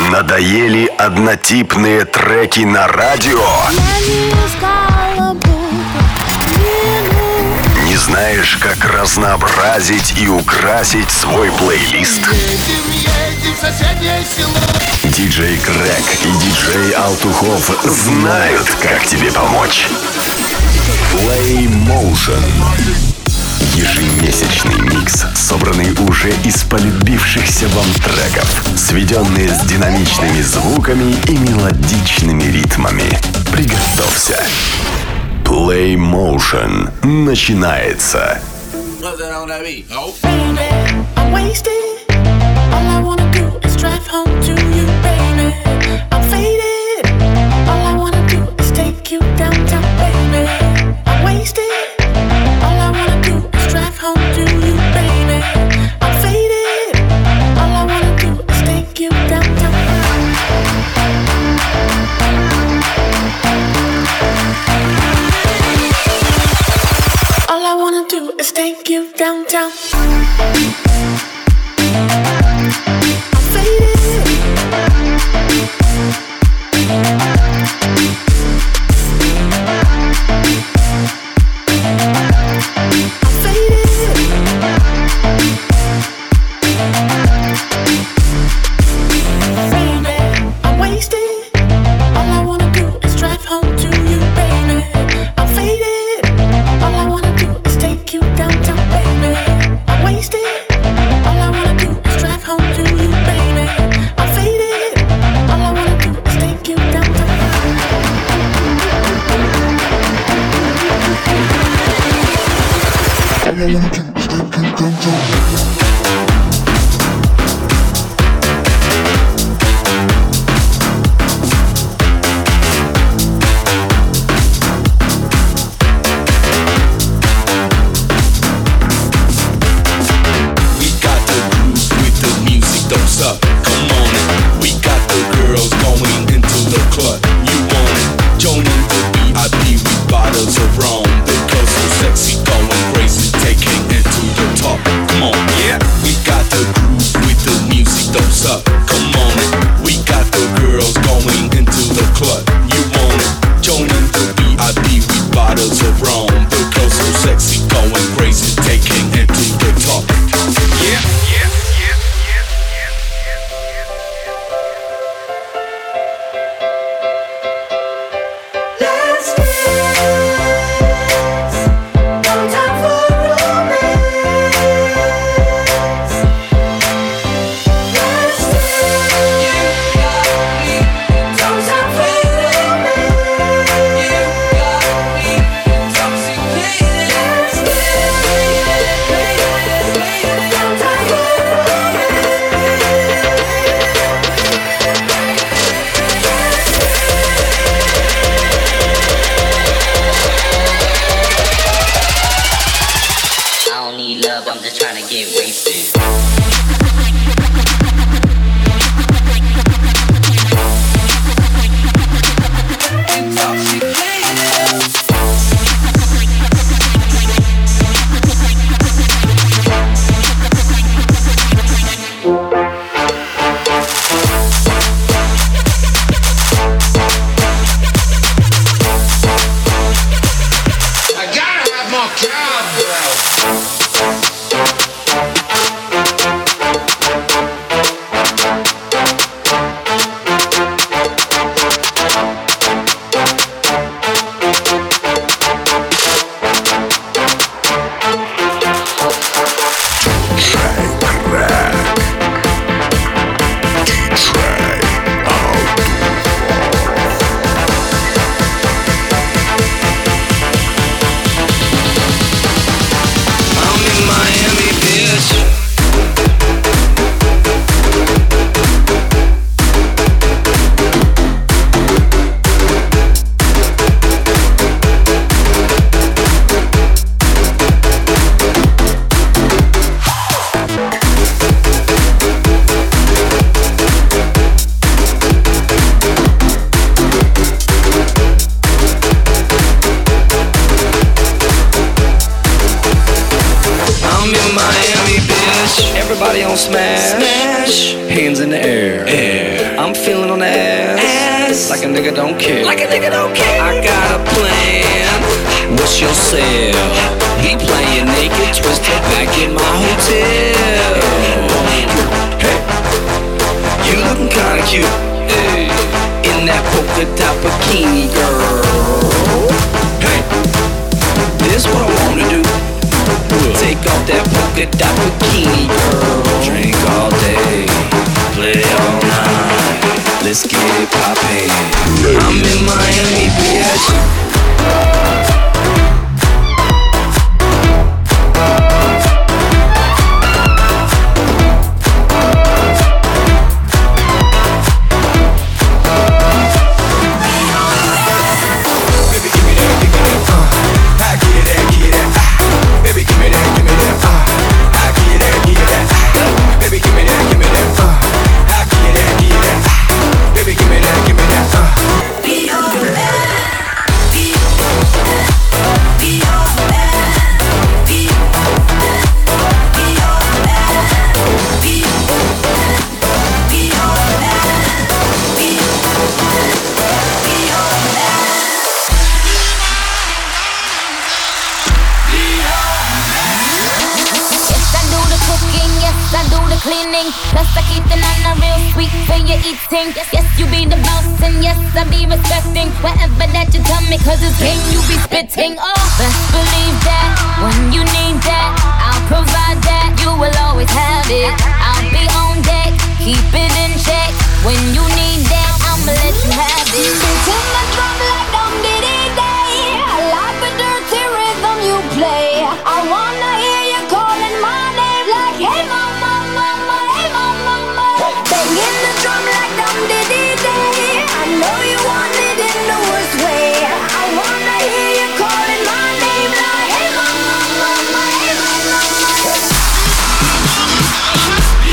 Надоели однотипные треки на радио? Не знаешь, как разнообразить и украсить свой плейлист? Диджей Грег и диджей Алтухов знают, как тебе помочь. Play Motion. Ежемесячный микс, собранный уже из полюбившихся вам треков, сведенные с динамичными звуками и мелодичными ритмами. Приготовься. Play Motion начинается. Take you downtown. Everybody on smash. Hands in in the air. I'm feeling on the ass like a nigga don't care. Like a nigga don't care. I got a plan. What's your sale? He playing naked, twisted back in my hotel. Hey, you looking kinda cute. Hey, in that polka dot bikini, girl. Hey, this what I wanna do. Take off that polka dot bikini, girl. Drink all day, play all night. Let's get it poppin'. I'm in Miami, bitch. Plus I keep the nana real sweet for your eating. Yes, you be the boss and yes, I be respecting whatever that you tell me, cause it's game you be spitting. Oh, best believe that when you need that, I'll provide that. You will always have it. I'll be on deck, keep it in check. When you need that, I'ma let you have it. Spitting the drum like dum diddy day. I like the dirty rhythm you play. I wanna hear you calling my name like, hey mama, mama, hey mama, mama. Banging the drum like dum diddy day. I know you want it in the worst way. I wanna hear you calling my name like, hey mama, mama, hey mama, mama.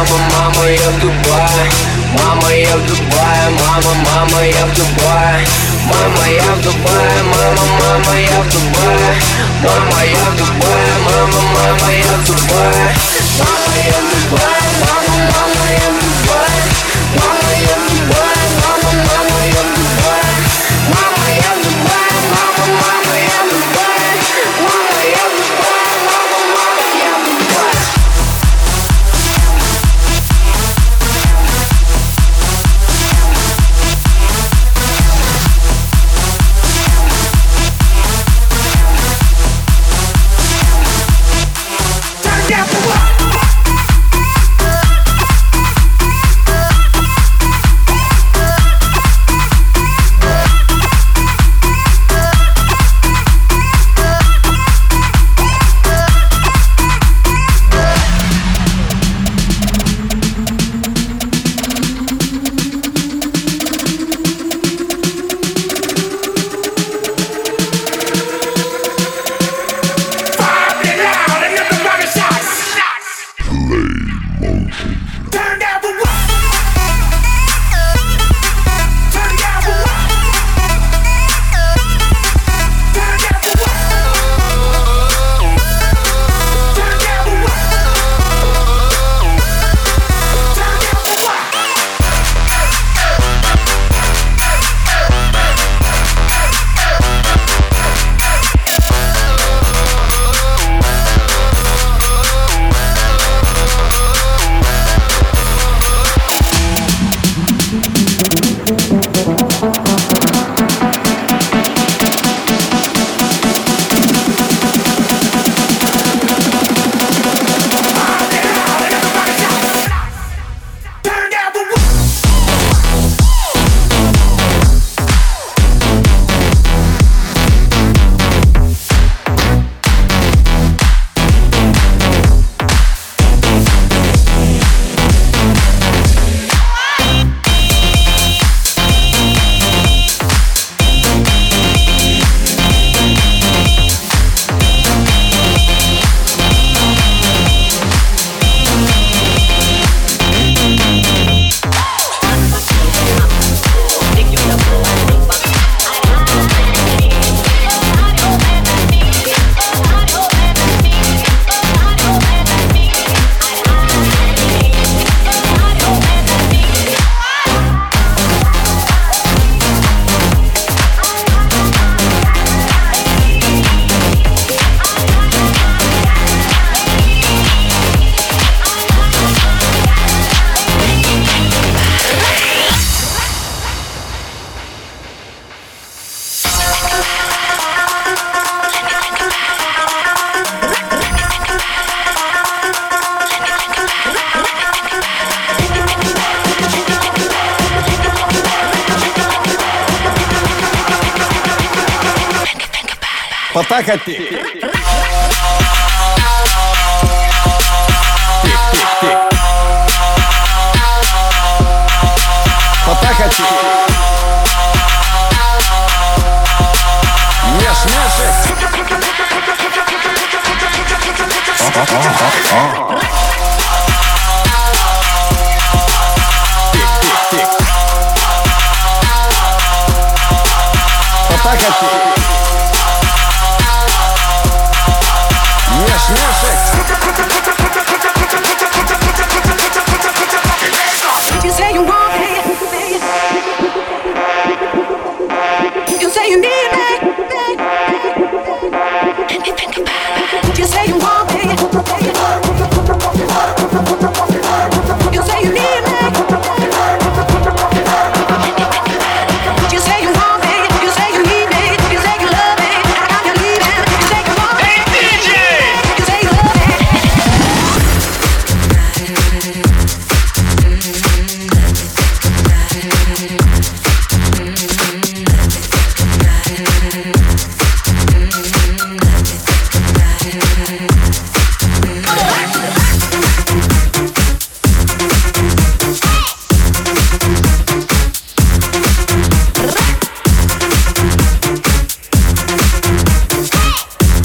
мама, я в Дубае. Мама, я в Дубае, мама, я в Дубае. Мама, я в Дубае, мама, я в Дубае. Мама, я в Дубае, мама, я в Дубае. Мама, я в Дубае, мама, я в Дубае. Мама, я в Дубае, мама, я в Дубае. Мама, я в Дубае, мама, я в Дубае. Мама, я в Дубае, мама, я в Дубае. Потакати. Потакати. Меш-мешек. Тик-тик-тик. Потакати. You say you want me. You say you need me. You say you want me. You say you need me. You say you want me. You say you need me. You say you love me. I got you leaving. You say you want me. Hey DJ. You say you love me.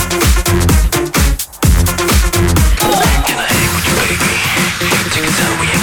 Can I hang with you, baby? Take it down,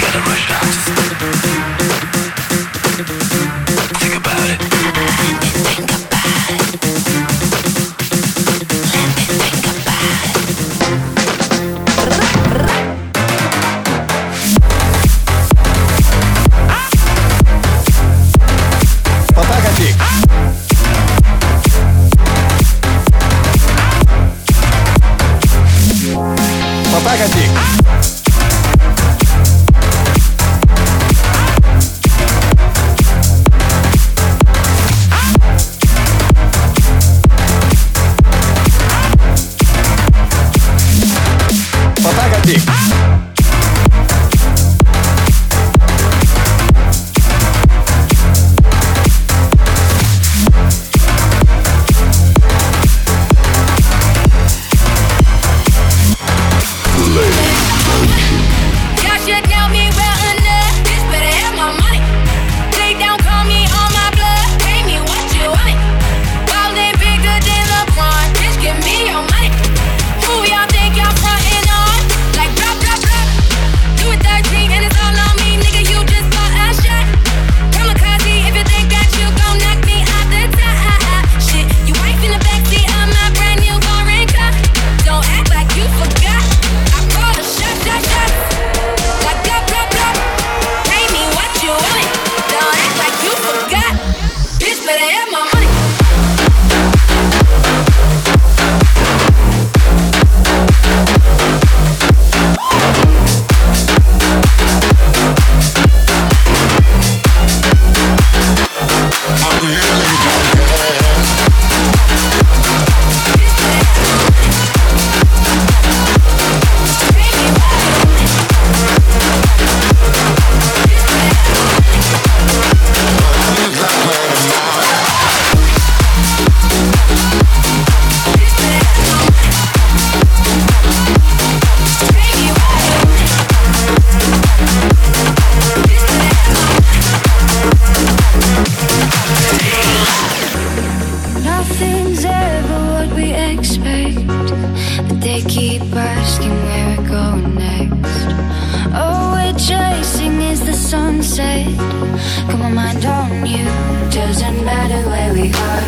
nothing's ever what we expect, but they keep asking where we're going next. All we're chasing is the sunset. Got my mind on you. Doesn't matter where we are.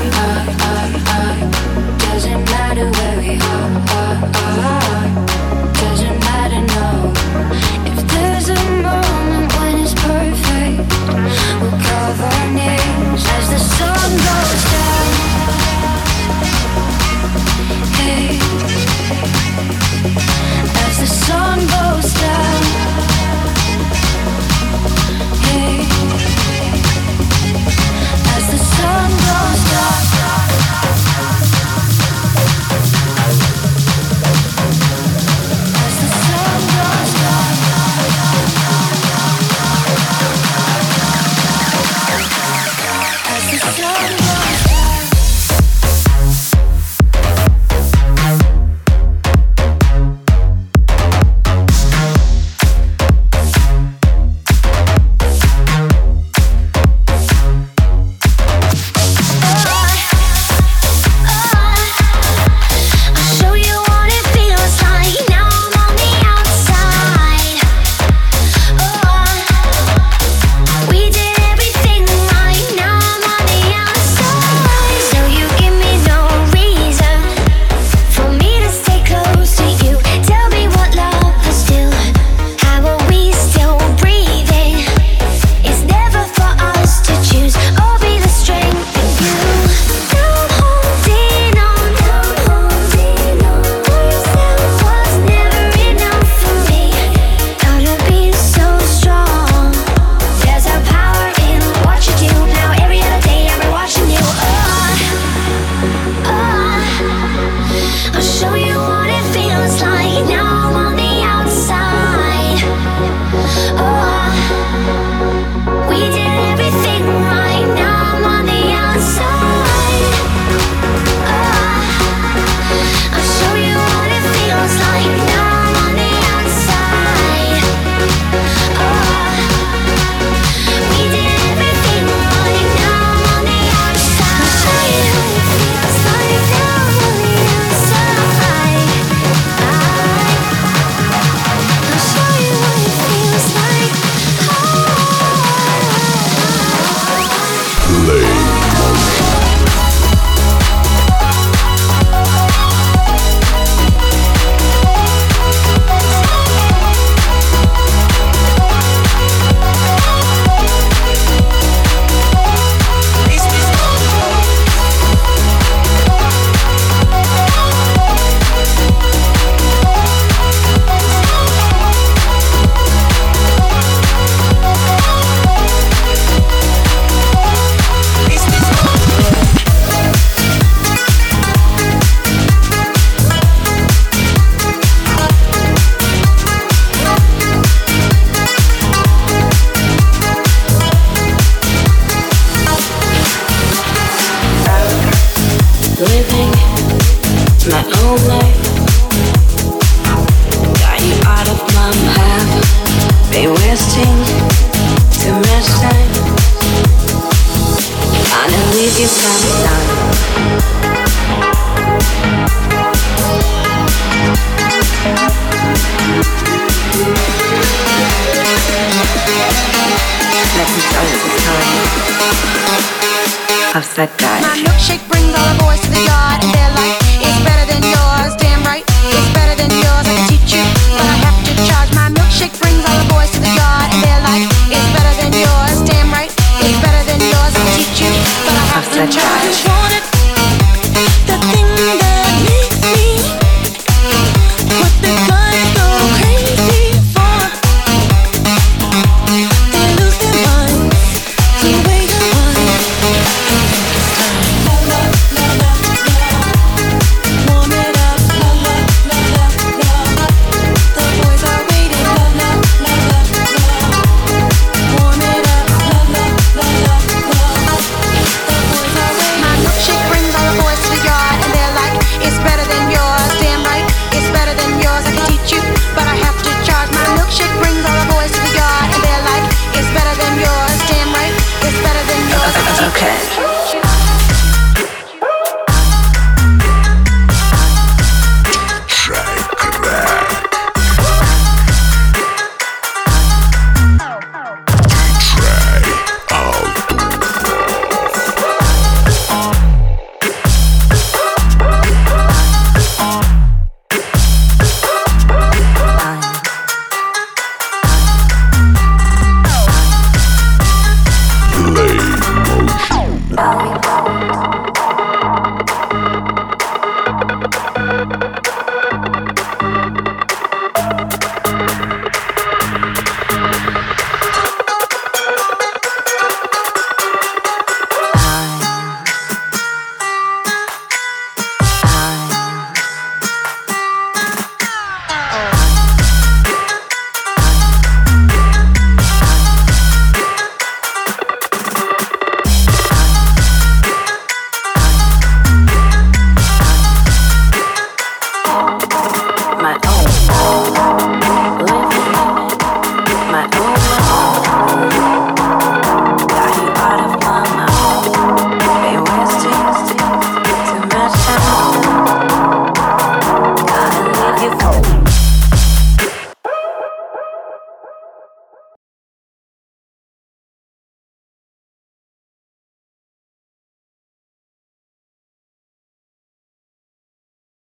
Doesn't matter where we are. Doesn't matter, no. If there's a moment when it's perfect, we'll carve our names as the sun goes down. Hey, as the sun goes down. Hey, as the sun goes down. Of that guy.